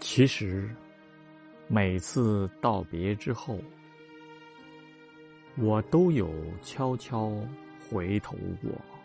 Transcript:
其实，每次道别之后，我都有悄悄回头过。